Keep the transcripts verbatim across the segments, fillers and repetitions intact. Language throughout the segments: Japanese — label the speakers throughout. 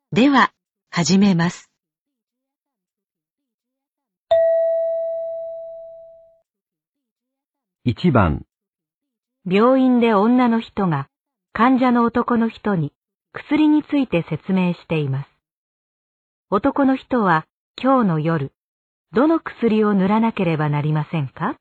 Speaker 1: では、始めます。
Speaker 2: いちばん、
Speaker 3: 病院で女の人が患者の男の人に薬について説明しています。男の人は今日の夜、どの薬を塗らなければなりませんか？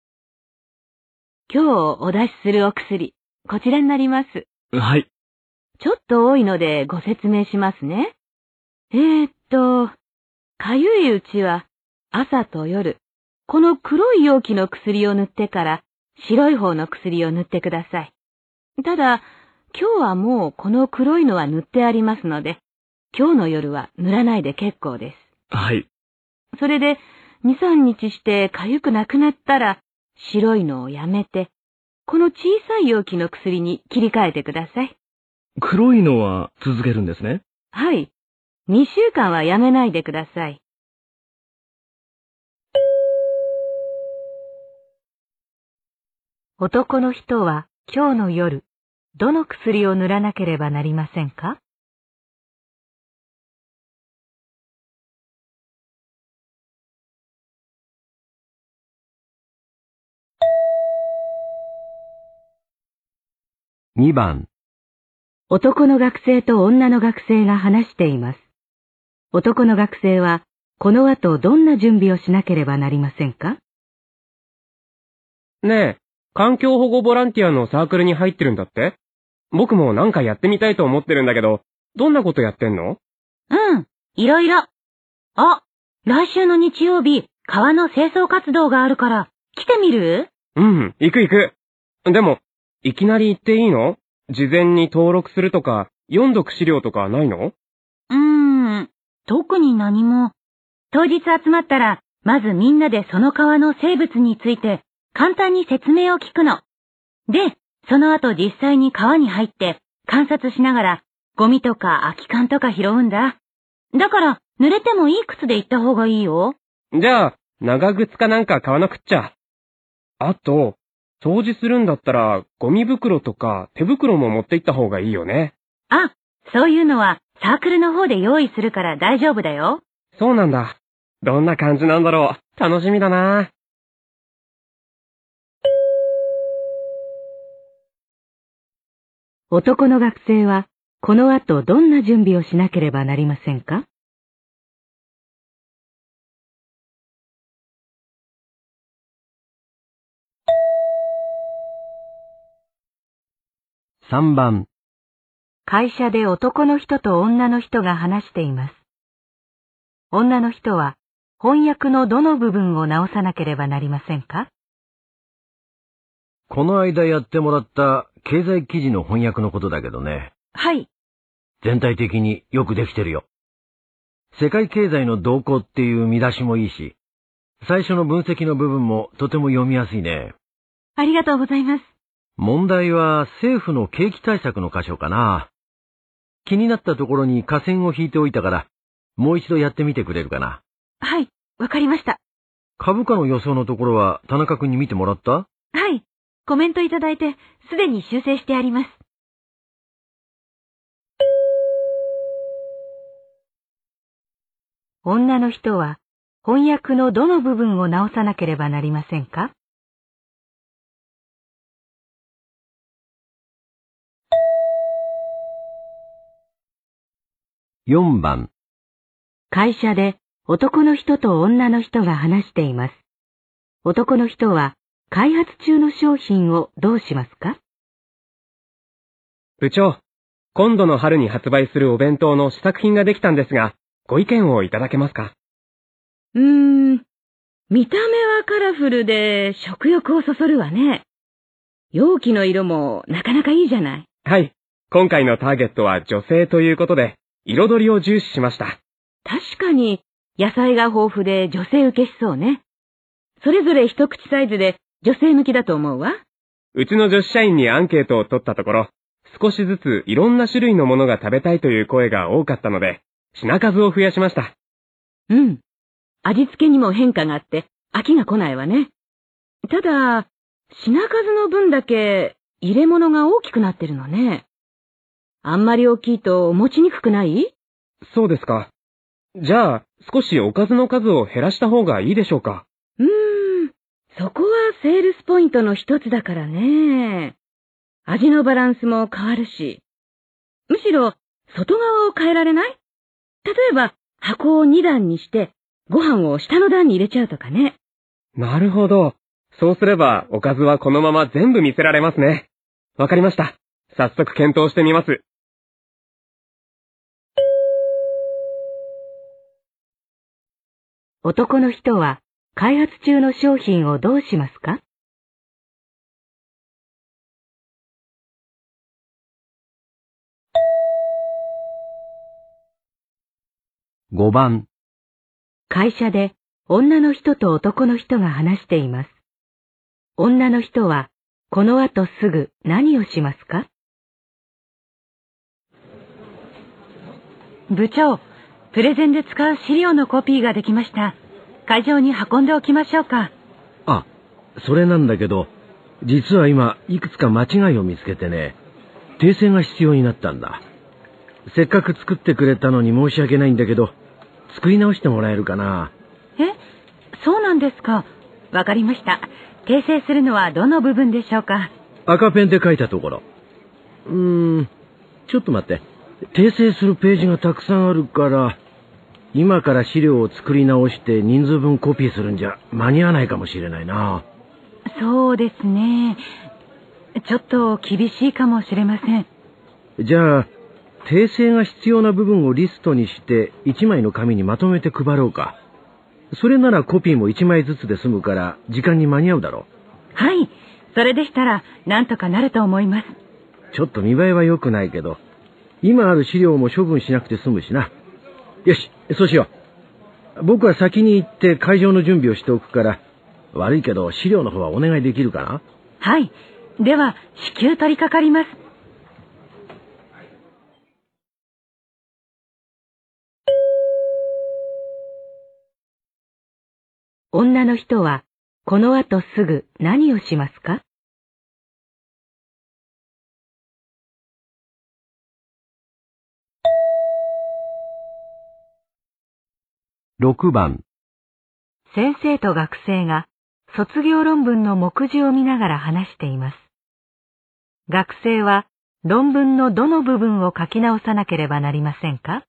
Speaker 3: 今日お出しするお薬、こちらになります。
Speaker 2: はい。
Speaker 3: ちょっと多いのでご説明しますね。えーっと、かゆいうちは朝と夜、この黒い容器の薬を塗ってから白い方の薬を塗ってください。ただ、今日はもうこの黒いのは塗ってありますので、今日の夜は塗らないで結構です。
Speaker 2: はい。
Speaker 3: それで、に、さんにちしてかゆくなくなったら、白いのをやめて、この小さい容器の薬に切り替えてください。
Speaker 2: 黒いのは続けるんですね。
Speaker 3: はい。にしゅうかんはやめないでください。男の人は今日の夜、どの薬を塗らなければなりませんか？
Speaker 2: にばん、
Speaker 3: 男の学生と女の学生が話しています。男の学生は、この後どんな準備をしなければなりませんか？
Speaker 4: ねえ、環境保護ボランティアのサークルに入ってるんだって？僕もなんかやってみたいと思ってるんだけど、どんなことやってんの？
Speaker 3: うん、いろいろ。あ、来週の日曜日、川の清掃活動があるから、来てみる？
Speaker 4: うん、行く行く。でも、いきなり行っていいの？事前に登録するとか、読んどく資料とかないの？
Speaker 3: うーん、特に何も。当日集まったら、まずみんなでその川の生物について、簡単に説明を聞くの。で、その後実際に川に入って、観察しながら、ゴミとか空き缶とか拾うんだ。だから、濡れてもいい靴で行った方がいいよ。
Speaker 4: じゃあ、長靴かなんか買わなくっちゃ。あと、掃除するんだったら、ゴミ袋とか手袋も持って行った方がいいよね。
Speaker 3: あ、そういうのはサークルの方で用意するから大丈夫だよ。
Speaker 4: そうなんだ。どんな感じなんだろう。楽しみだな。
Speaker 3: 男の学生は、この後どんな準備をしなければなりませんか？
Speaker 2: さんばん、
Speaker 3: 会社で男の人と女の人が話しています。女の人は翻訳のどの部分を直さなければなりませんか？
Speaker 2: この間やってもらった経済記事の翻訳のことだけどね。
Speaker 3: はい。
Speaker 2: 全体的によくできてるよ。世界経済の動向っていう見出しもいいし、最初の分析の部分もとても読みやすいね。
Speaker 3: ありがとうございます。
Speaker 2: 問題は政府の景気対策の箇所かな。気になったところに下線を引いておいたから、もう一度やってみてくれるかな。
Speaker 3: はい、わかりました。
Speaker 2: 株価の予想のところは田中君に見てもらった？
Speaker 3: はい、コメントいただいてすでに修正してあります。女の人は翻訳のどの部分を直さなければなりませんか？
Speaker 2: よんばん、
Speaker 3: 会社で男の人と女の人が話しています。男の人は開発中の商品をどうしますか？
Speaker 4: 部長、今度の春に発売するお弁当の試作品ができたんですが、ご意見をいただけますか？
Speaker 3: うーん、見た目はカラフルで食欲をそそるわね。容器の色もなかなかいいじゃない。
Speaker 4: はい。今回のターゲットは女性ということで、彩りを重視しました。
Speaker 3: 確かに野菜が豊富で女性受けしそうね。それぞれ一口サイズで女性向きだと思うわ。
Speaker 4: うちの女子社員にアンケートを取ったところ、少しずついろんな種類のものが食べたいという声が多かったので、品数を増やしました。
Speaker 3: うん。味付けにも変化があって飽きが来ないわね。ただ、品数の分だけ入れ物が大きくなってるのね。あんまり大きいと持ちにくくない？
Speaker 4: そうですか。じゃあ、少しおかずの数を減らした方がいいでしょうか。
Speaker 3: うーん、そこはセールスポイントの一つだからね。味のバランスも変わるし。むしろ、外側を変えられない？例えば、箱をに段にして、ご飯を下の段に入れちゃうとかね。
Speaker 4: なるほど。そうすれば、おかずはこのまま全部見せられますね。わかりました。早速検討してみます。
Speaker 3: 男の人は、開発中の商品をどうしますか？
Speaker 2: ごばん。
Speaker 3: 会社で女の人と男の人が話しています。女の人は、この後すぐ何をしますか？部長、プレゼンで使う資料のコピーができました。会場に運んでおきましょうか。
Speaker 2: あ、それなんだけど、実は今、いくつか間違いを見つけてね、訂正が必要になったんだ。せっかく作ってくれたのに申し訳ないんだけど、作り直してもらえるかな。
Speaker 3: え、そうなんですか。わかりました。訂正するのはどの部分でしょうか。
Speaker 2: 赤ペンで書いたところ。うーん、ちょっと待って。訂正するページがたくさんあるから、今から資料を作り直して人数分コピーするんじゃ間に合わないかもしれないな。
Speaker 3: そうですね。ちょっと厳しいかもしれません。
Speaker 2: じゃあ、訂正が必要な部分をリストにして一枚の紙にまとめて配ろうか。それならコピーも一枚ずつで済むから時間に間に合うだろう。
Speaker 3: はい。それでしたらなんとかなると思います。
Speaker 2: ちょっと見栄えは良くないけど、今ある資料も処分しなくて済むしな。よし、そうしよう。僕は先に行って会場の準備をしておくから、悪いけど資料の方はお願いできるかな？
Speaker 3: はい。では、至急取り掛かります。女の人は、この後すぐ何をしますか？
Speaker 2: ろくばん。
Speaker 3: 先生と学生が卒業論文の目次を見ながら話しています。学生は論文のどの部分を書き直さなければなりませんか？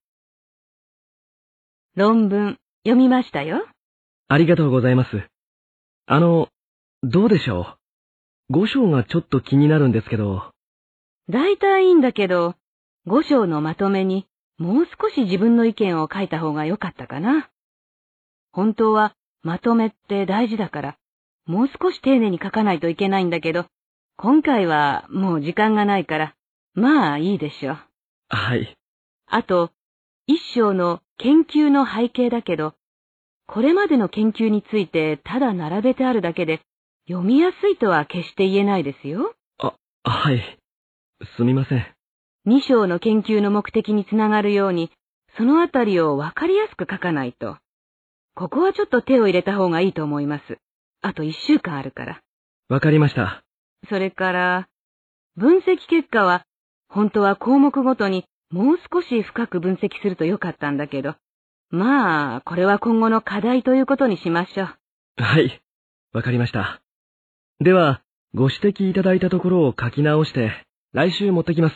Speaker 3: 論文、読みましたよ。
Speaker 5: ありがとうございます。あの、どうでしょう。ご章がちょっと気になるんですけど。
Speaker 3: だいたいいいんだけど、ご章のまとめにもう少し自分の意見を書いた方が良かったかな。本当はまとめって大事だから、もう少し丁寧に書かないといけないんだけど、今回はもう時間がないから、まあいいでしょう。
Speaker 5: はい。
Speaker 3: あと、一章の研究の背景だけど、これまでの研究についてただ並べてあるだけで、読みやすいとは決して言えないですよ。
Speaker 5: あ、はい。すみません。
Speaker 3: 二章の研究の目的につながるように、そのあたりをわかりやすく書かないと。ここはちょっと手を入れた方がいいと思います。あと一週間あるから。
Speaker 5: わかりました。
Speaker 3: それから、分析結果は、本当は項目ごとにもう少し深く分析するとよかったんだけど、まあ、これは今後の課題ということにしましょう。
Speaker 5: はい。わかりました。では、ご指摘いただいたところを書き直して、来週持ってきます。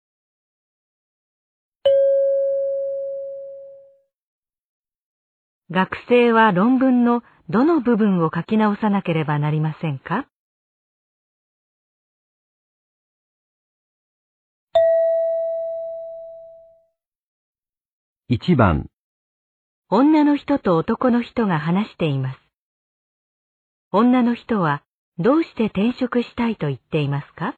Speaker 3: 学生は論文のどの部分を書き直さなければなりませんか？
Speaker 2: いちばん。
Speaker 3: 女の人と男の人が話しています。女の人はどうして転職したいと言っていますか？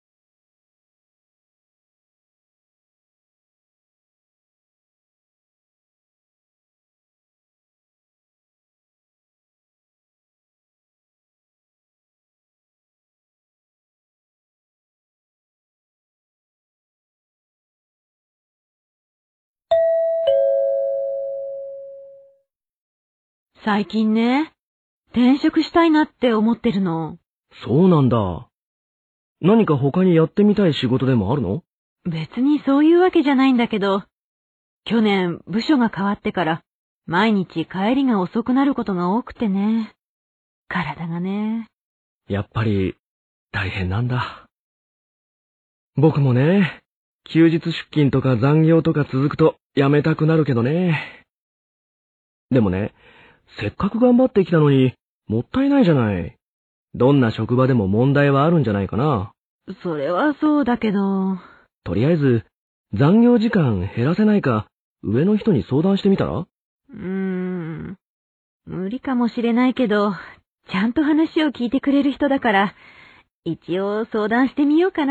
Speaker 3: 最近ね、転職したいなって思ってるの。
Speaker 5: そうなんだ。何か他にやってみたい仕事でもあるの？
Speaker 3: 別にそういうわけじゃないんだけど、 去年部署が変わってから毎日帰りが遅くなることが多くてね。体がね。
Speaker 5: やっぱり大変なんだ。僕もね、休日出勤とか残業とか続くとやめたくなるけどね。でもね、せっかく頑張ってきたのにもったいないじゃない。どんな職場でも問題はあるんじゃないかな。
Speaker 3: それはそうだけど。
Speaker 5: とりあえず残業時間減らせないか上の人に相談してみたら？
Speaker 3: うーん。無理かもしれないけど、ちゃんと話を聞いてくれる人だから、一応相談してみようかな。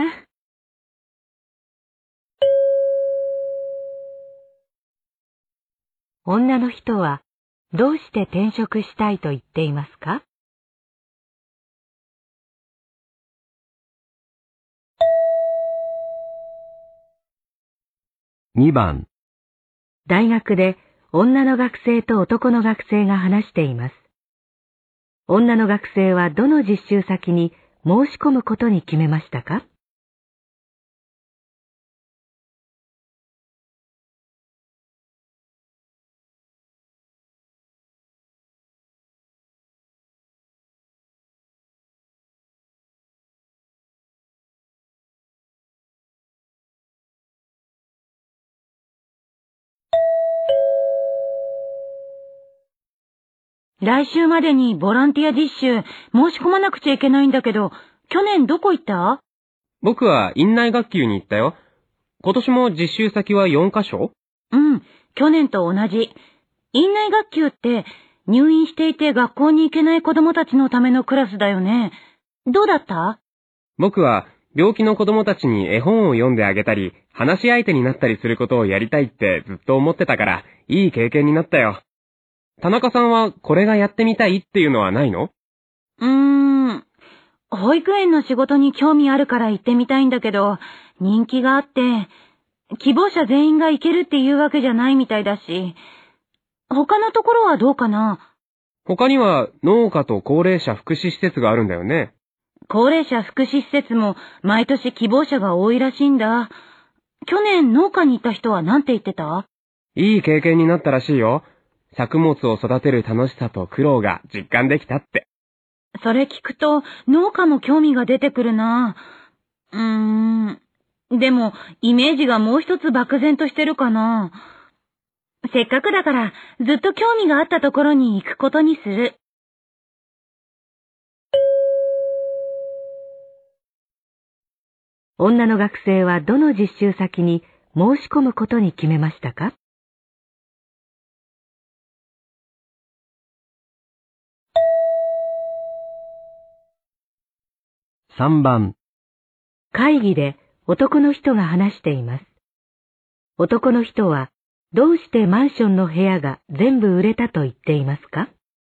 Speaker 1: 女の人はどうして転職したいと言っていますか？
Speaker 2: にばん。
Speaker 1: 大学で女の学生と男の学生が話しています。女の学生はどの実習先に申し込むことに決めましたか？
Speaker 3: 来週までにボランティア実習申し込まなくちゃいけないんだけど、去年どこ行った？
Speaker 4: 僕は院内学級に行ったよ。今年も実習先はよんカ所？
Speaker 3: うん、去年と同じ。院内学級って入院していて学校に行けない子供たちのためのクラスだよね。どうだった？
Speaker 4: 僕は病気の子供たちに絵本を読んであげたり、話し相手になったりすることをやりたいってずっと思ってたから、いい経験になったよ。田中さんはこれがやってみたいっていうのはないの？
Speaker 3: うーん。保育園の仕事に興味あるから行ってみたいんだけど、人気があって、希望者全員が行けるっていうわけじゃないみたいだし、他のところはどうかな？
Speaker 4: 他には農家と高齢者福祉施設があるんだよね。
Speaker 3: 高齢者福祉施設も毎年希望者が多いらしいんだ。去年農家に行った人は何て言ってた？
Speaker 4: いい経験になったらしいよ。作物を育てる楽しさと苦労が実感できたって。
Speaker 3: それ聞くと農家も興味が出てくるな。うーん。でもイメージがもう一つ漠然としてるかな。せっかくだからずっと興味があったところに行くことにする。
Speaker 1: 女の学生はどの実習先に申し込むことに決めましたか？
Speaker 2: さんばん。
Speaker 1: 会議で男の人が話しています。男の人はどうしてマンションの部屋が全部売れたと言っていますか？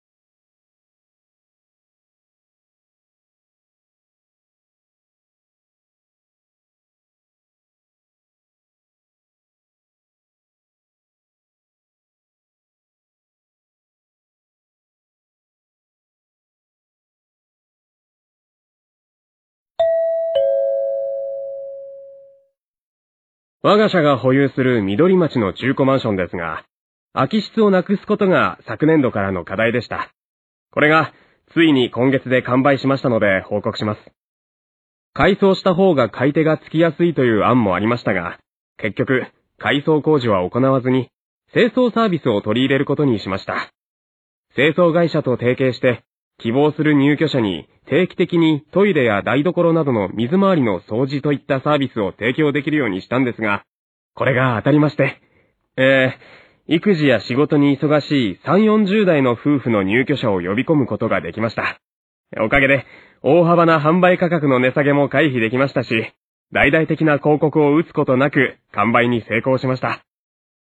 Speaker 4: 我が社が保有する緑町の中古マンションですが、空き室をなくすことが昨年度からの課題でした。これがついに今月で完売しましたので報告します。改装した方が買い手がつきやすいという案もありましたが、結局改装工事は行わずに清掃サービスを取り入れることにしました。清掃会社と提携して希望する入居者に定期的にトイレや台所などの水回りの掃除といったサービスを提供できるようにしたんですが、これが当たりまして、えー、育児や仕事に忙しいさん、よんじゅう代の夫婦の入居者を呼び込むことができました。おかげで大幅な販売価格の値下げも回避できましたし、大々的な広告を打つことなく完売に成功しました。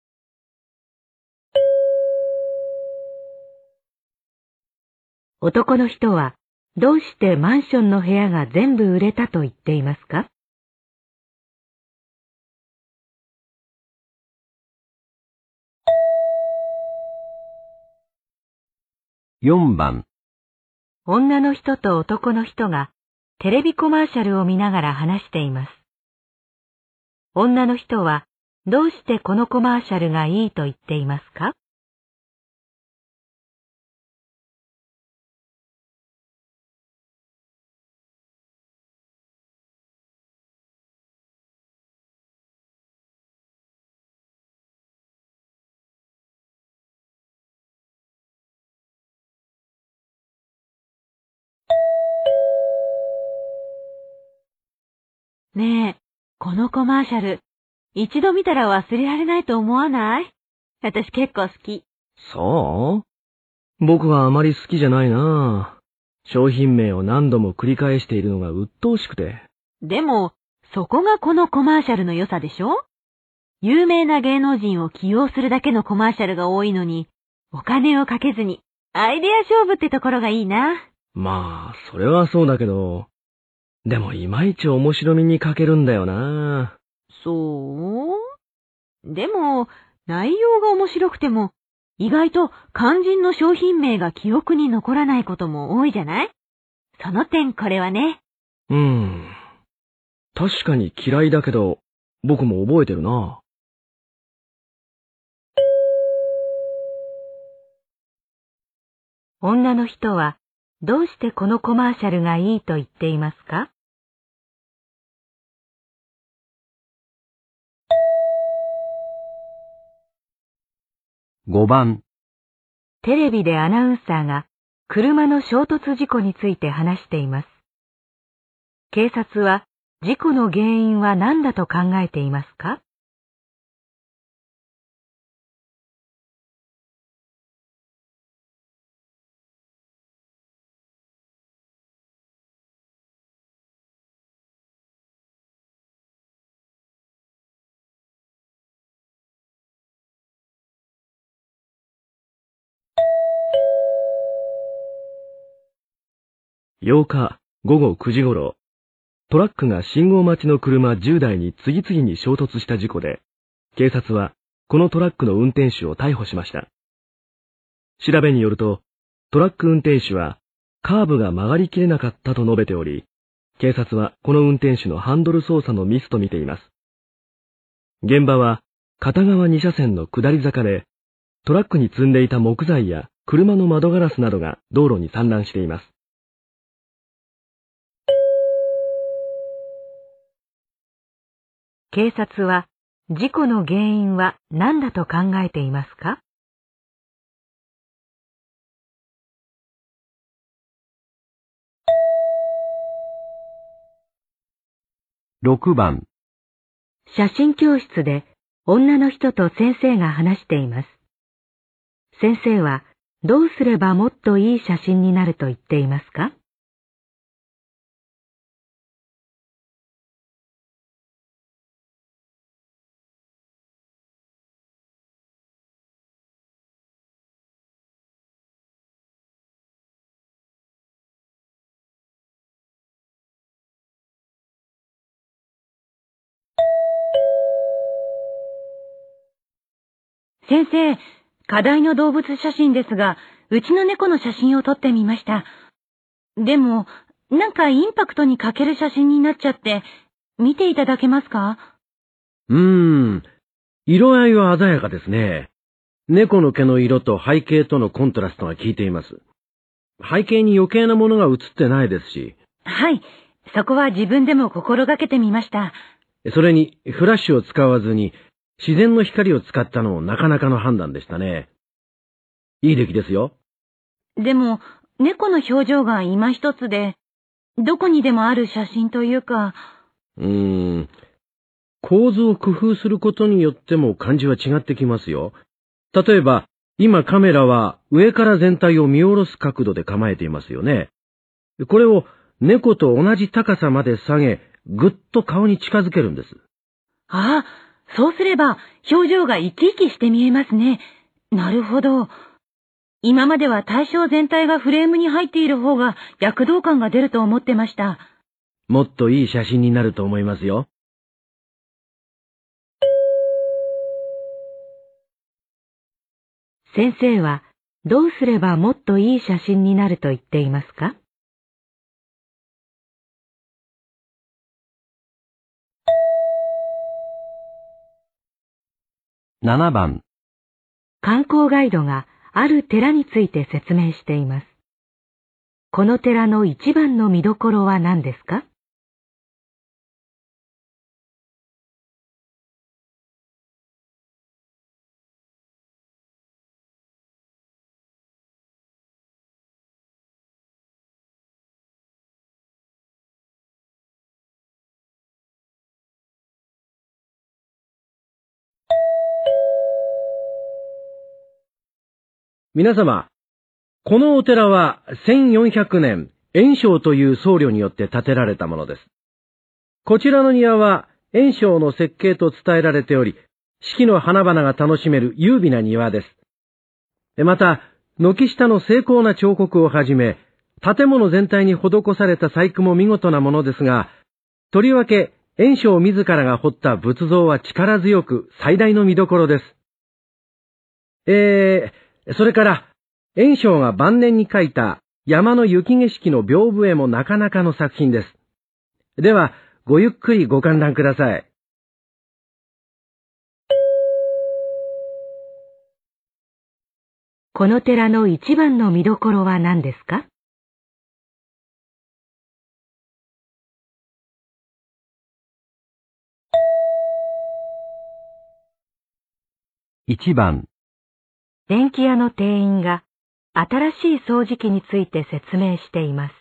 Speaker 1: 男の人はどうしてマンションの部屋が全部売れたと言っていますか？
Speaker 2: よんばん。
Speaker 1: 女の人と男の人がテレビコマーシャルを見ながら話しています。女の人はどうしてこのコマーシャルがいいと言っていますか？
Speaker 3: ねえ、このコマーシャル、一度見たら忘れられないと思わない？私結構好き。
Speaker 5: そう僕はあまり好きじゃないな。商品名を何度も繰り返しているのが鬱陶しくて。
Speaker 3: でも、そこがこのコマーシャルの良さでしょ？有名な芸能人を起用するだけのコマーシャルが多いのに、お金をかけずに、アイデア勝負ってところがいいな。
Speaker 5: まあ、それはそうだけど、でもいまいち面白みに欠けるんだよな。
Speaker 3: そう？でも、内容が面白くても、意外と肝心の商品名が記憶に残らないことも多いじゃない？その点これはね。
Speaker 5: うーん。確かに嫌いだけど、僕も覚えてるな。
Speaker 1: 女の人はどうしてこのコマーシャルがいいと言っていますか？
Speaker 2: ごばん。
Speaker 1: テレビでアナウンサーが車の衝突事故について話しています。警察は事故の原因は何だと考えていますか？
Speaker 5: ようかごごくじ頃、トラックが信号待ちの車じゅうだいに次々に衝突した事故で、警察はこのトラックの運転手を逮捕しました。調べによると、トラック運転手はカーブが曲がりきれなかったと述べており、警察はこの運転手のハンドル操作のミスと見ています。現場は片側に車線の下り坂で、トラックに積んでいた木材や車の窓ガラスなどが道路に散乱しています。
Speaker 1: 警察は事故の原因は何だと考えていますか？
Speaker 2: ろくばん。
Speaker 1: 写真教室で女の人と先生が話しています。先生はどうすればもっといい写真になると言っていますか？
Speaker 3: 先生、課題の動物写真ですが、うちの猫の写真を撮ってみました。でも、なんかインパクトに欠ける写真になっちゃって、見ていただけますか？
Speaker 2: うーん。色合いは鮮やかですね。猫の毛の色と背景とのコントラストが効いています。背景に余計なものが映ってないですし。
Speaker 3: はい、そこは自分でも心がけてみました。
Speaker 2: それに、フラッシュを使わずに、自然の光を使ったのもなかなかの判断でしたね。いい出来ですよ。
Speaker 3: でも、猫の表情が今一つで、どこにでもある写真というか。
Speaker 2: うーん。構図を工夫することによっても感じは違ってきますよ。例えば、今カメラは上から全体を見下ろす角度で構えていますよね。これを猫と同じ高さまで下げ、ぐっと顔に近づけるんです。
Speaker 3: ああ、そうすれば表情が生き生きして見えますね。なるほど。今までは対象全体がフレームに入っている方が躍動感が出ると思ってました。
Speaker 2: もっといい写真になると思いますよ。
Speaker 1: 先生はどうすればもっといい写真になると言っていますか？
Speaker 2: ななばん。
Speaker 1: 観光ガイドがある寺について説明しています。この寺の一番の見どころは何ですか？
Speaker 2: 皆様、このお寺はせんよんひゃくねん、円生という僧侶によって建てられたものです。こちらの庭は円生の設計と伝えられており、四季の花々が楽しめる優美な庭です。また、軒下の精巧な彫刻をはじめ、建物全体に施された細工も見事なものですが、とりわけ円生自らが彫った仏像は力強く最大の見どころです。えー、それから、円生が晩年に描いた山の雪景色の屏風絵もなかなかの作品です。では、ごゆっくりご観覧ください。
Speaker 1: この寺の一番の見どころは何ですか？
Speaker 2: いちばん。
Speaker 1: 電気屋の店員が新しい掃除機について説明しています。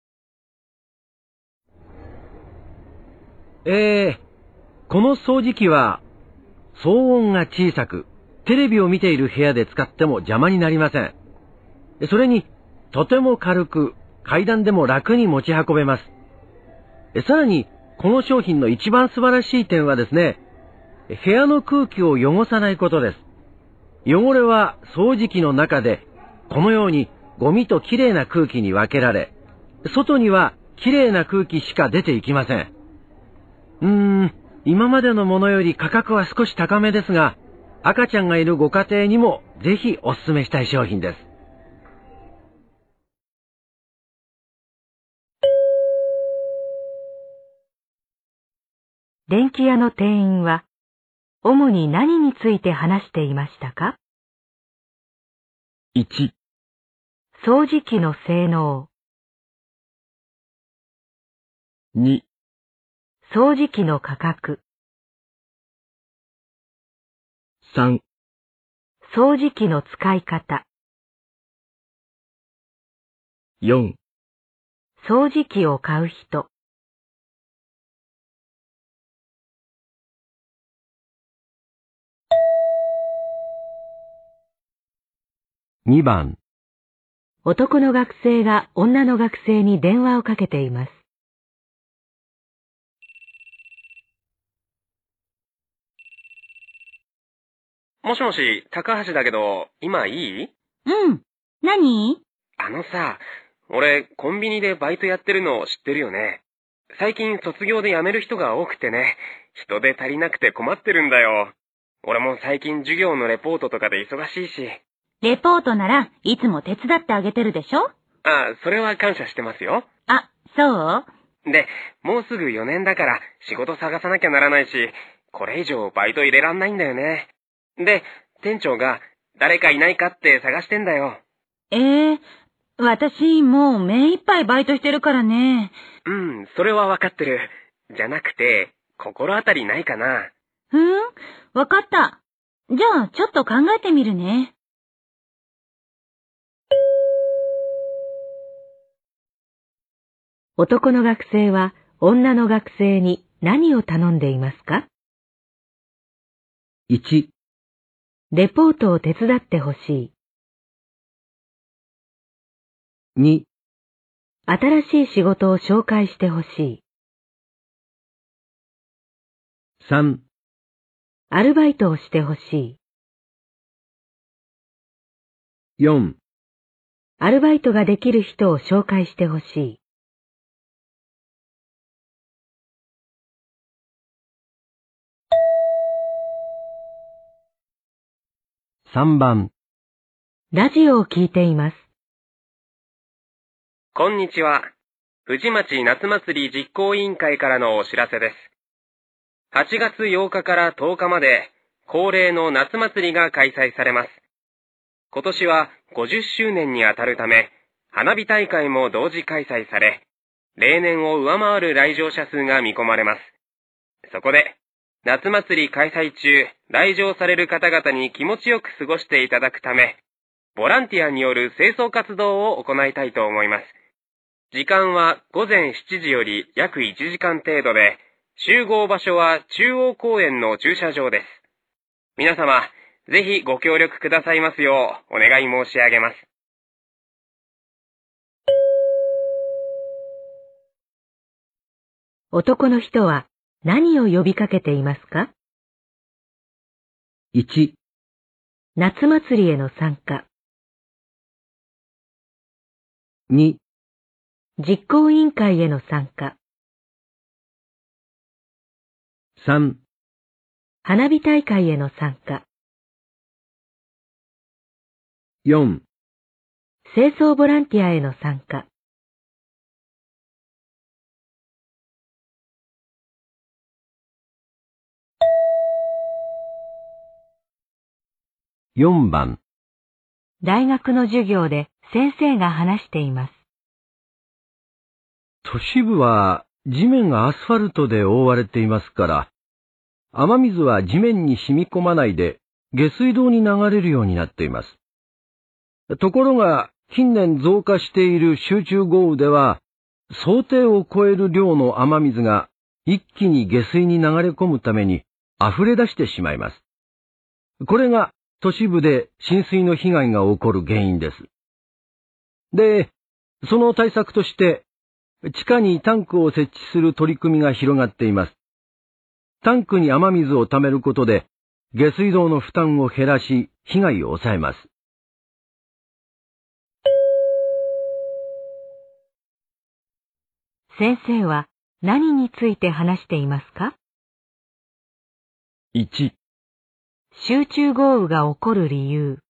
Speaker 2: えー、この掃除機は騒音が小さく、テレビを見ている部屋で使っても邪魔になりません。それに、とても軽く、階段でも楽に持ち運べます。さらに、この商品の一番素晴らしい点はですね、部屋の空気を汚さないことです。汚れは掃除機の中で、このようにゴミときれいな空気に分けられ、外にはきれいな空気しか出ていきません。うーん、今までのものより価格は少し高めですが、赤ちゃんがいるご家庭にもぜひお勧めしたい商品です。
Speaker 1: 電気屋の店員は、主に何について話していましたか？
Speaker 5: いち、
Speaker 1: 掃除機の性能。
Speaker 5: に、
Speaker 1: 掃除機の価格。
Speaker 5: さん、
Speaker 1: 掃除機の使い方。
Speaker 5: よん、
Speaker 1: 掃除機を買う人。
Speaker 2: にばん。
Speaker 1: 男の学生が女の学生に電話をかけています。
Speaker 4: もしもし、高橋だけど、今いい？
Speaker 3: うん。何？
Speaker 4: あのさ、俺、コンビニでバイトやってるの知ってるよね。最近卒業で辞める人が多くてね、人手足りなくて困ってるんだよ。俺も最近授業のレポートとかで忙しいし。
Speaker 3: レポートならいつも手伝ってあげてるでしょ？
Speaker 4: あ、それは感謝してますよ。
Speaker 3: あ、そう？
Speaker 4: で、もうすぐよねんだから仕事探さなきゃならないし、これ以上バイト入れらんないんだよね。で、店長が誰かいないかって探してんだよ。
Speaker 3: ええ、私もう目いっぱいバイトしてるからね。
Speaker 4: うん、それはわかってる。じゃなくて、心当たりないかな。
Speaker 3: ふん、わかった。じゃあちょっと考えてみるね。
Speaker 1: 男の学生は女の学生に何を頼んでいますか？
Speaker 2: いち、
Speaker 1: レポートを手伝ってほしい。
Speaker 2: に、
Speaker 1: 新しい仕事を紹介してほしい。
Speaker 2: さん、
Speaker 1: アルバイトをしてほしい。
Speaker 2: よん、
Speaker 1: アルバイトができる人を紹介してほしい。
Speaker 2: さんばん。
Speaker 1: ラジオを聞いています。
Speaker 4: こんにちは。富士町夏祭り実行委員会からのお知らせです。はちがつようかからとおかまで、 恒例の夏祭りが開催されます。今年はごじゅっしゅうねんにあたるため、花火大会も同時開催され、例年を上回る来場者数が見込まれます。そこで、夏祭り開催中、来場される方々に気持ちよく過ごしていただくため、ボランティアによる清掃活動を行いたいと思います。時間はごぜんしちじより約いちじかん程度で、集合場所は中央公園の駐車場です。皆様、ぜひご協力くださいますようお願い申し上げます。
Speaker 1: 男の人は何を呼びかけていますか？
Speaker 2: いち、
Speaker 1: 夏祭りへの参加。
Speaker 2: に、
Speaker 1: 実行委員会への参加。
Speaker 2: さん、
Speaker 1: 花火大会への参加。
Speaker 2: よん、
Speaker 1: 清掃ボランティアへの参加。
Speaker 2: よんばん。
Speaker 1: 大学の授業で先生が話しています。
Speaker 2: 都市部は地面がアスファルトで覆われていますから、雨水は地面に染み込まないで下水道に流れるようになっています。ところが近年増加している集中豪雨では、想定を超える量の雨水が一気に下水に流れ込むために溢れ出してしまいます。これが都市部で浸水の被害が起こる原因です。で、その対策として、地下にタンクを設置する取り組みが広がっています。タンクに雨水を溜めることで、下水道の負担を減らし、被害を抑えます。
Speaker 1: 先生は何について話していますか？
Speaker 5: いち、
Speaker 1: 集中豪雨が起こる理由。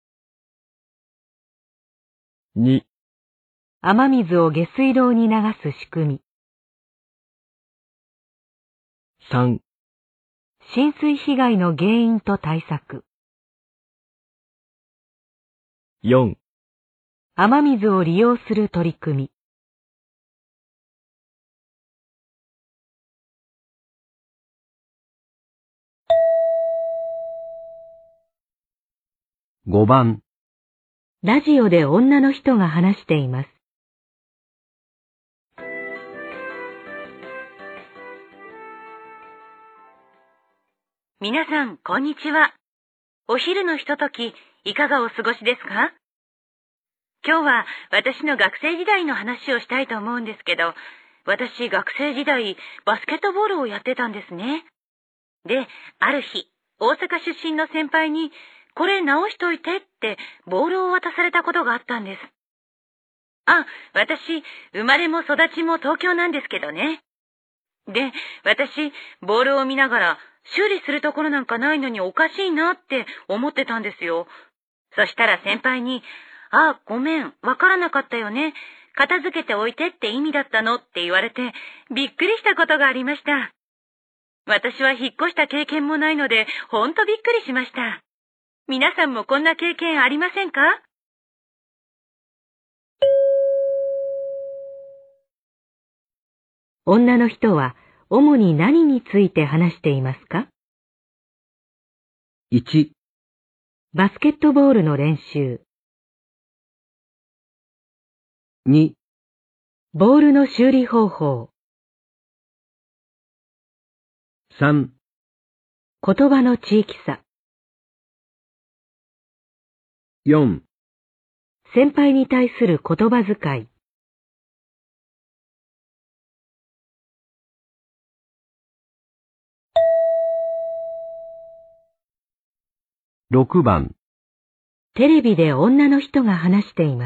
Speaker 5: に、
Speaker 1: 雨水を下水道に流す仕組み。
Speaker 5: さん、
Speaker 1: 浸水被害の原因と対策。
Speaker 5: よん、
Speaker 1: 雨水を利用する取り組み。
Speaker 2: ごばん。
Speaker 1: ラジオで女の人が話しています。
Speaker 3: 皆さん、こんにちは。お昼のひととき、いかがお過ごしですか？今日は私の学生時代の話をしたいと思うんですけど、私学生時代、バスケットボールをやってたんですね。で、ある日、大阪出身の先輩に、これ直しといてってボールを渡されたことがあったんです。あ、私、生まれも育ちも東京なんですけどね。で、私、ボールを見ながら、修理するところなんかないのにおかしいなって思ってたんですよ。そしたら先輩に、あ、ごめん、わからなかったよね。片付けておいてって意味だったのって言われて、びっくりしたことがありました。私は引っ越した経験もないので、ほんとびっくりしました。皆さんもこんな経験ありませんか？
Speaker 1: 女の人は主に何について話していますか？
Speaker 2: いち、
Speaker 1: バスケットボールの練習。
Speaker 2: に、
Speaker 1: ボールの修理方法。
Speaker 2: さん、
Speaker 1: 言葉の地域差。
Speaker 2: よん、
Speaker 1: 先輩に対する言葉遣い。
Speaker 2: ろくばん。
Speaker 1: テレビで女の人が話しています。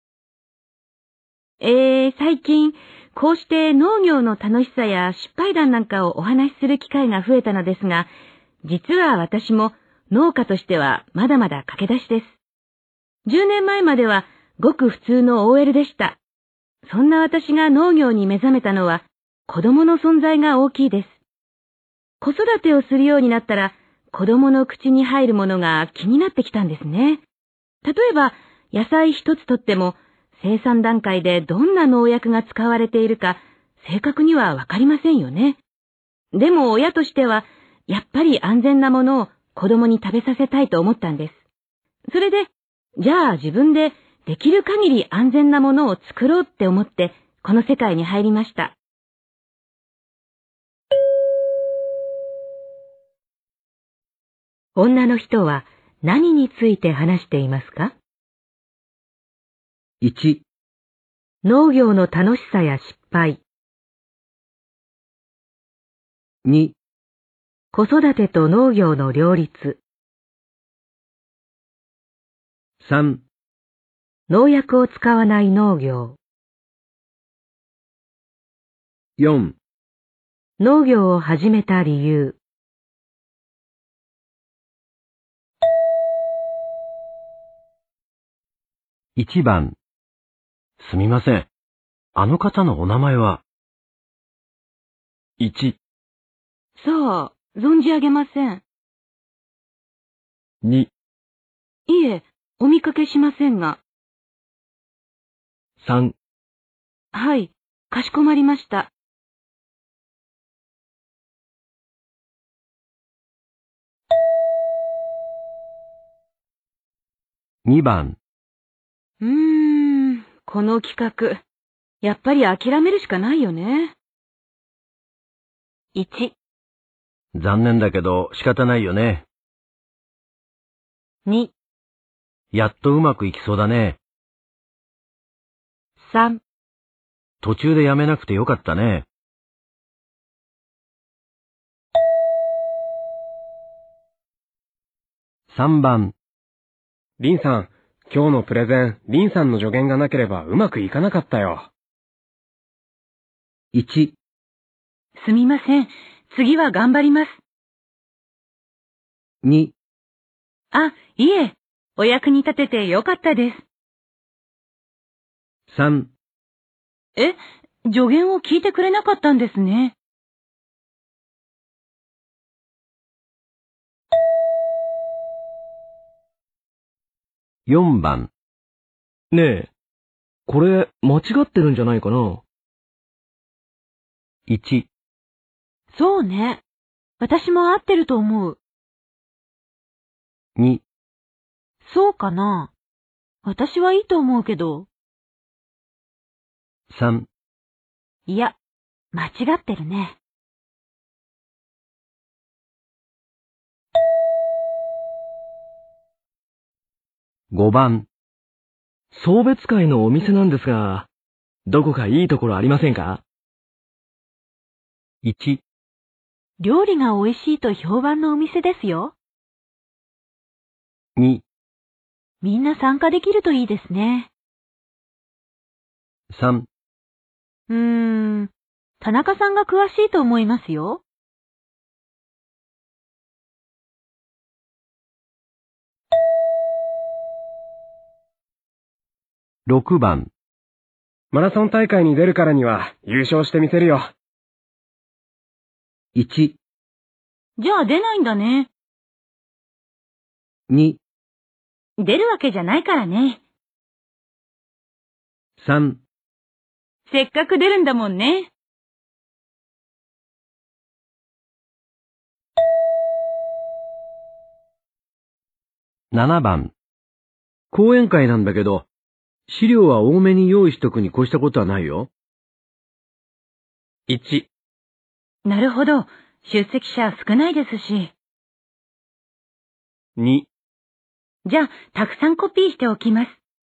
Speaker 3: えー、最近、こうして農業の楽しさや失敗談なんかをお話しする機会が増えたのですが、実は私も農家としてはまだまだ駆け出しです。じゅうねんまえまではごく普通の オーエル でした。そんな私が農業に目覚めたのは子供の存在が大きいです。子育てをするようになったら子供の口に入るものが気になってきたんですね。例えば、野菜一つとっても、生産段階でどんな農薬が使われているか、正確にはわかりませんよね。でも親としては、やっぱり安全なものを子供に食べさせたいと思ったんです。それで、じゃあ自分でできる限り安全なものを作ろうって思って、この世界に入りました。
Speaker 1: 女の人は何について話していますか？
Speaker 2: いち、
Speaker 1: 農業の楽しさや失敗。
Speaker 2: に、
Speaker 1: 子育てと農業の両立。
Speaker 2: さん、
Speaker 1: 農薬を使わない農業。
Speaker 2: よん、
Speaker 1: 農業を始めた理由。
Speaker 2: いちばん。すみません。あの方のお名前は？
Speaker 5: いち、
Speaker 3: さあ、存じ上げません。
Speaker 5: に、
Speaker 3: いえ、お見かけしませんが。
Speaker 5: さん、
Speaker 3: はい、かしこまりました。
Speaker 2: にばん。
Speaker 3: うーん、この企画、やっぱり諦めるしかないよね。いち、
Speaker 2: 残念だけど仕方ないよね。
Speaker 3: に、
Speaker 2: やっとうまくいきそうだね。
Speaker 3: さん、
Speaker 2: 途中でやめなくてよかったね。さんばん。
Speaker 4: リンさん、今日のプレゼン、リンさんの助言がなければうまくいかなかったよ。
Speaker 2: いち、
Speaker 3: すみません。次は頑張ります。
Speaker 2: に、
Speaker 3: あ、いえ、お役に立ててよかったです。
Speaker 2: さん、
Speaker 3: え、助言を聞いてくれなかったんですね。
Speaker 2: よんばん。
Speaker 5: ねえ、これ間違ってるんじゃないかな？
Speaker 2: いち、
Speaker 3: そうね。私も合ってると思う。
Speaker 2: に、
Speaker 3: そうかな。私はいいと思うけど。
Speaker 2: さん、
Speaker 3: いや、間違ってるね。
Speaker 2: ごばん。
Speaker 5: 送別会のお店なんですが、どこかいいところありませんか？
Speaker 2: いち、
Speaker 3: 料理が美味しいと評判のお店ですよ。
Speaker 2: に、
Speaker 3: みんな参加できるといいですね。
Speaker 2: さん、
Speaker 3: うーん、田中さんが詳しいと思いますよ。
Speaker 2: ろくばん。
Speaker 4: マラソン大会に出るからには優勝してみせるよ。
Speaker 2: いち、
Speaker 3: じゃあ出ないんだね。
Speaker 2: に、
Speaker 3: 出るわけじゃないからね。
Speaker 2: さん、
Speaker 3: せっかく出るんだもんね。
Speaker 2: ななばん。講演会なんだけど、資料は多めに用意しとくに越したことはないよ。
Speaker 4: いち、
Speaker 3: なるほど。出席者少ないですし。
Speaker 4: に、
Speaker 3: じゃあ、たくさんコピーしておきます。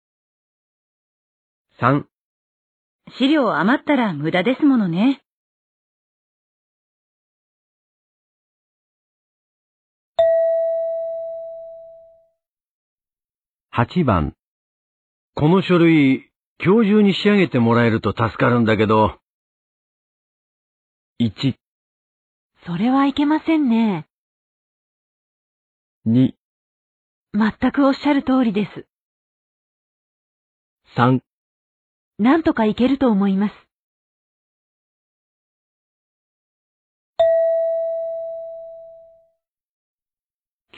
Speaker 4: さん、
Speaker 3: 資料余ったら無駄ですものね。
Speaker 2: はちばん。この書類、今日中に仕上げてもらえると助かるんだけど。
Speaker 5: いち、
Speaker 3: それはいけませんね。
Speaker 5: に、
Speaker 3: 全くおっしゃる通りです。
Speaker 5: さん、
Speaker 3: なんとかいけると思います。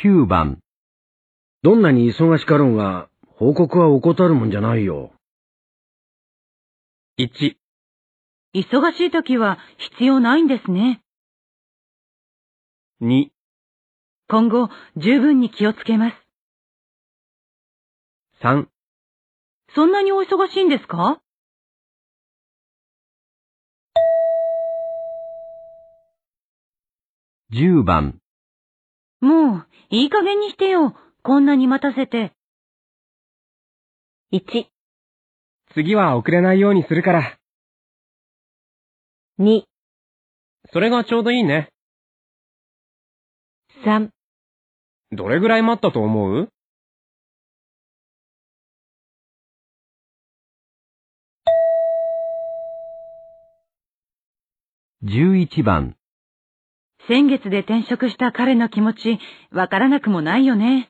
Speaker 2: きゅうばん。どんなに忙しかろうが、報告は怠るもんじゃないよ。
Speaker 4: いち、
Speaker 3: 忙しい時は必要ないんですね。
Speaker 4: に、
Speaker 3: 今後、十分に気をつけます。
Speaker 4: さん、
Speaker 3: そんなにお忙しいんですか？
Speaker 2: じゅうばん。
Speaker 3: もう、いい加減にしてよ。こんなに待たせて。いち、
Speaker 4: 次は遅れないようにするから。
Speaker 1: に、
Speaker 4: それがちょうどいいね。
Speaker 1: さん、
Speaker 4: どれぐらい待ったと思う？
Speaker 2: じゅういちばん。
Speaker 3: 先月で転職した彼の気持ち、わからなくもないよね。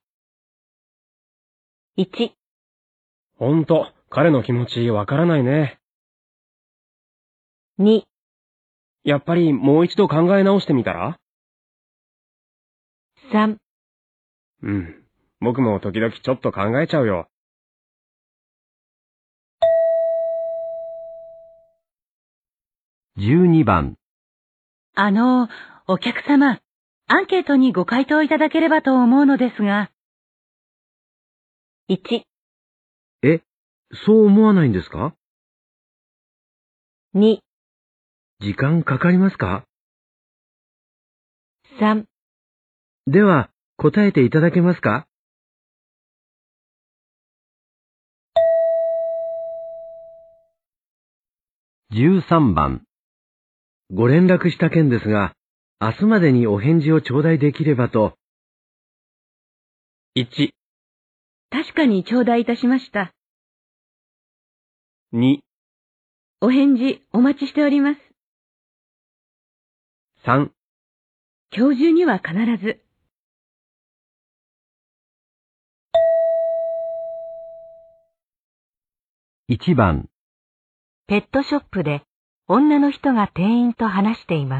Speaker 1: いち、
Speaker 4: ほんと、彼の気持ちわからないね。
Speaker 1: に、
Speaker 4: やっぱりもう一度考え直してみたら？
Speaker 1: さん、
Speaker 4: うん。僕も時々ちょっと考えちゃうよ。
Speaker 2: じゅうにばん。
Speaker 3: あの、お客様、アンケートにご回答いただければと思うのですが。
Speaker 1: いち、
Speaker 2: え、そう思わないんですか？
Speaker 1: に、
Speaker 2: 時間かかりますか？
Speaker 1: さん、
Speaker 2: では、答えていただけますか？じゅうさんばん。ご連絡した件ですが、明日までにお返事を頂戴できればと。
Speaker 4: いち、
Speaker 3: 確かに頂戴いたしました。
Speaker 4: に、
Speaker 3: お返事お待ちしております。
Speaker 4: さん、
Speaker 3: 今日中には必ず。
Speaker 2: いちばん。
Speaker 1: ペットショップで女の人が店員と話しています。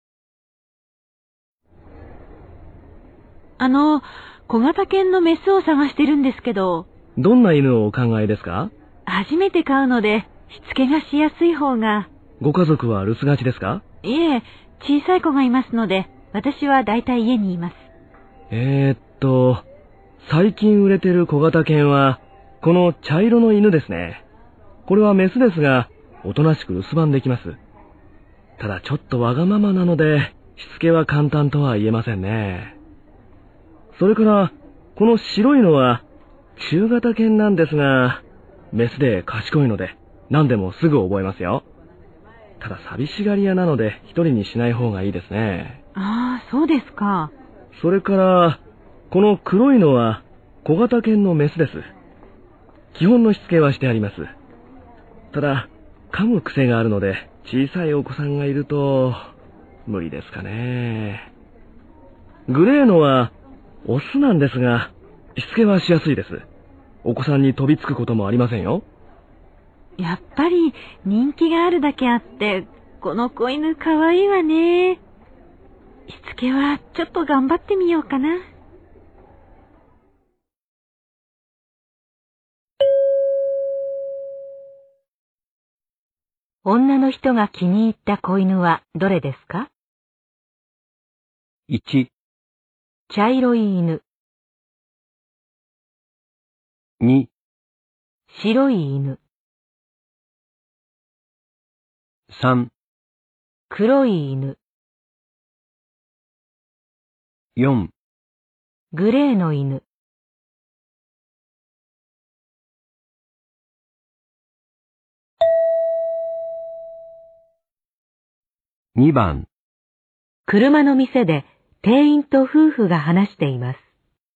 Speaker 3: あの、小型犬のメスを探してるんですけど。
Speaker 5: どんな犬をお考えですか？
Speaker 3: 初めて飼うので、しつけがしやすい方が。
Speaker 5: ご家族は留守がちですか？
Speaker 3: いえ、小さい子がいますので、私はだいたい家にいます。
Speaker 5: えー、っと、最近売れてる小型犬は、この茶色の犬ですね。これはメスですが、おとなしく留守番できます。ただちょっとわがままなので、しつけは簡単とは言えませんね。それから、この白いのは、中型犬なんですが、メスで賢いので、何でもすぐ覚えますよ。ただ寂しがり屋なので、一人にしない方がいいですね。
Speaker 3: ああ、そうですか。
Speaker 5: それから、この黒いのは、小型犬のメスです。基本のしつけはしてあります。ただ、噛む癖があるので、小さいお子さんがいると、無理ですかね。グレーのは、オスなんですが、しつけはしやすいです。お子さんに飛びつくこともありませんよ。
Speaker 3: やっぱり人気があるだけあって、この子犬かわいいわね。しつけはちょっと頑張ってみようかな。
Speaker 1: 女の人が気に入った子犬はどれですか？
Speaker 2: いち、
Speaker 1: 茶色い犬、
Speaker 2: に、
Speaker 1: 白い犬、
Speaker 2: さん、
Speaker 1: 黒い犬、
Speaker 2: よん、
Speaker 1: グレーの犬。
Speaker 2: にばん。
Speaker 1: 車の店で店員と夫婦が話しています。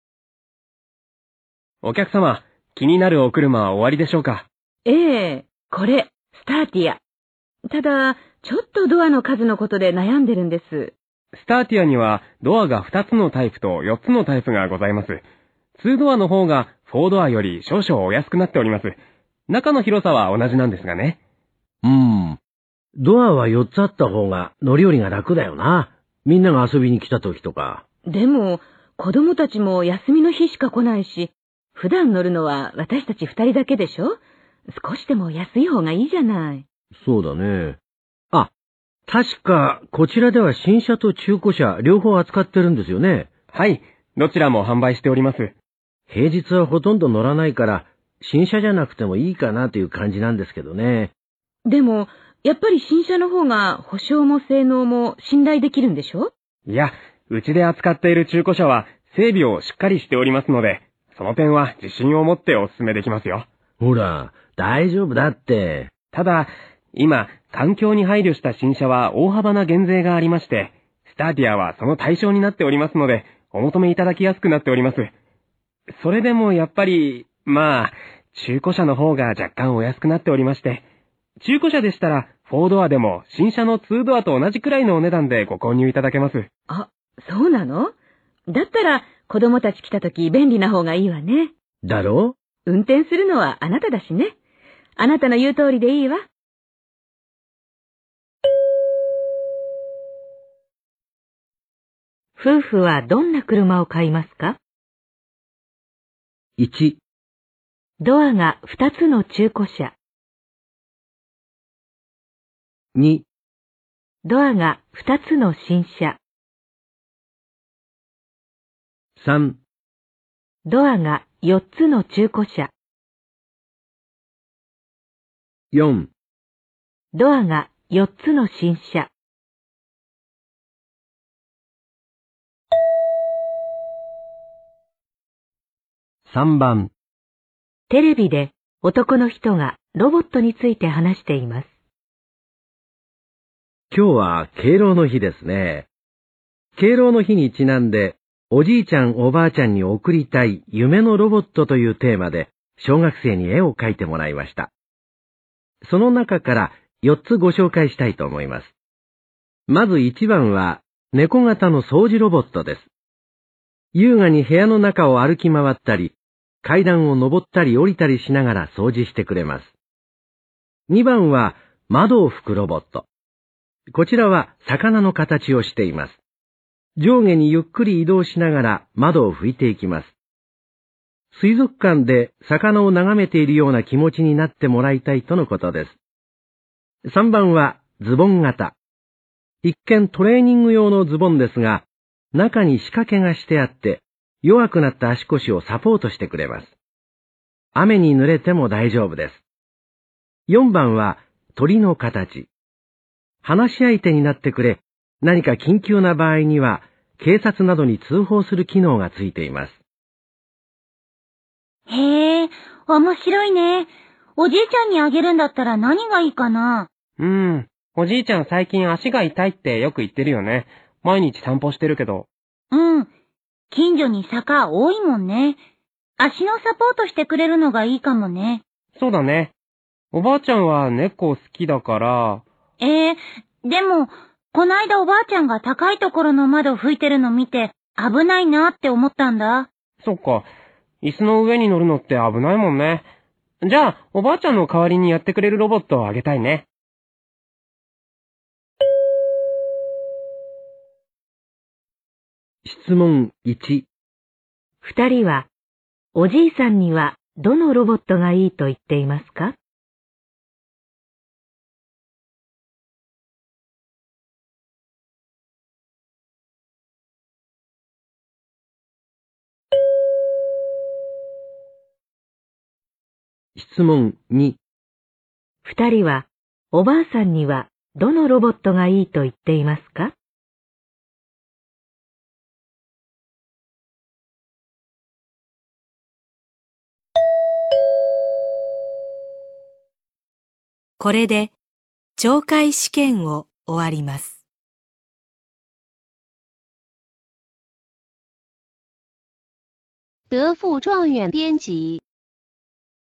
Speaker 4: お客様、気になるお車は終わりでしょうか？
Speaker 3: ええ、これ、スターティア。ただ、ちょっとドアの数のことで悩んでるんです。
Speaker 4: スターティアにはドアがふたつのタイプとよっつのタイプがございます。にドアの方がよんドアより少々お安くなっております。中の広さは同じなんですがね。
Speaker 2: うーん。ドアはよっつあった方が乗り降りが楽だよな。みんなが遊びに来た時とか。
Speaker 3: でも、 子供たちも休みの日しか来ないし、普段乗るのは私たち二人だけでしょ？少しでも安い方がいいじゃない。
Speaker 2: そうだね。あ、確かこちらでは新車と中古車両方扱ってるんですよね。
Speaker 4: はい、どちらも販売しております。
Speaker 2: 平日はほとんど乗らないから、新車じゃなくてもいいかなという感じなんですけどね。
Speaker 3: でも、やっぱり新車の方が保証も性能も信頼できるんでしょ？
Speaker 4: いや、うちで扱っている中古車は整備をしっかりしておりますので、その点は自信を持ってお勧めできますよ。
Speaker 2: ほら、大丈夫だって。
Speaker 4: ただ、今、環境に配慮した新車は大幅な減税がありまして、スターティアはその対象になっておりますので、お求めいただきやすくなっております。それでもやっぱり、まあ、中古車の方が若干お安くなっておりまして、中古車でしたら、フォードアでも新車のツードアと同じくらいのお値段でご購入いただけます。
Speaker 3: あ、そうなの？だったら、子供たち来た時便利な方がいいわね。
Speaker 2: だろ？
Speaker 3: 運転するのはあなただしね。あなたの言う通りでいいわ。
Speaker 1: 夫婦はどんな車を買いますか？
Speaker 2: いち、
Speaker 1: ドアがふたつの中古車。
Speaker 2: に、
Speaker 1: ドアがふたつの新車。
Speaker 2: さん、
Speaker 1: ドアがよっつの中古車。
Speaker 2: よん、
Speaker 1: ドアがよっつの新車。
Speaker 2: さんばん。
Speaker 1: テレビで男の人がロボットについて話しています。
Speaker 2: 今日は敬老の日ですね。敬老の日にちなんで、おじいちゃんおばあちゃんに贈りたい夢のロボットというテーマで、小学生に絵を描いてもらいました。その中からよっつご紹介したいと思います。まずいちばんは、猫型の掃除ロボットです。優雅に部屋の中を歩き回ったり、階段を登ったり降りたりしながら掃除してくれます。にばんは、窓を拭くロボット。こちらは魚の形をしています。上下にゆっくり移動しながら窓を拭いていきます。水族館で魚を眺めているような気持ちになってもらいたいとのことです。さんばんはズボン型。一見トレーニング用のズボンですが、中に仕掛けがしてあって、弱くなった足腰をサポートしてくれます。雨に濡れても大丈夫です。よんばんは鳥の形。話し相手になってくれ、何か緊急な場合には、警察などに通報する機能がついています。
Speaker 6: へえ、面白いね。おじいちゃんにあげるんだったら何がいいかな？
Speaker 4: うーん、おじいちゃん最近足が痛いってよく言ってるよね。毎日散歩してるけど。
Speaker 6: うん。近所に坂多いもんね。足のサポートしてくれるのがいいかもね。
Speaker 4: そうだね。おばあちゃんは猫好きだから。
Speaker 6: ええ、でも、こないだおばあちゃんが高いところの窓拭いてるの見て危ないなって思ったんだ。
Speaker 4: そっか。椅子の上に乗るのって危ないもんね。じゃあ、おばあちゃんの代わりにやってくれるロボットをあげたいね。
Speaker 2: 質問いち。
Speaker 1: 二人は、おじいさんにはどのロボットがいいと言っていますか？
Speaker 2: 質問に。
Speaker 1: 二人は、おばあさんにはどのロボットがいいと言っていますか？これで、懲戒試験を終わります。
Speaker 7: 德富状元编辑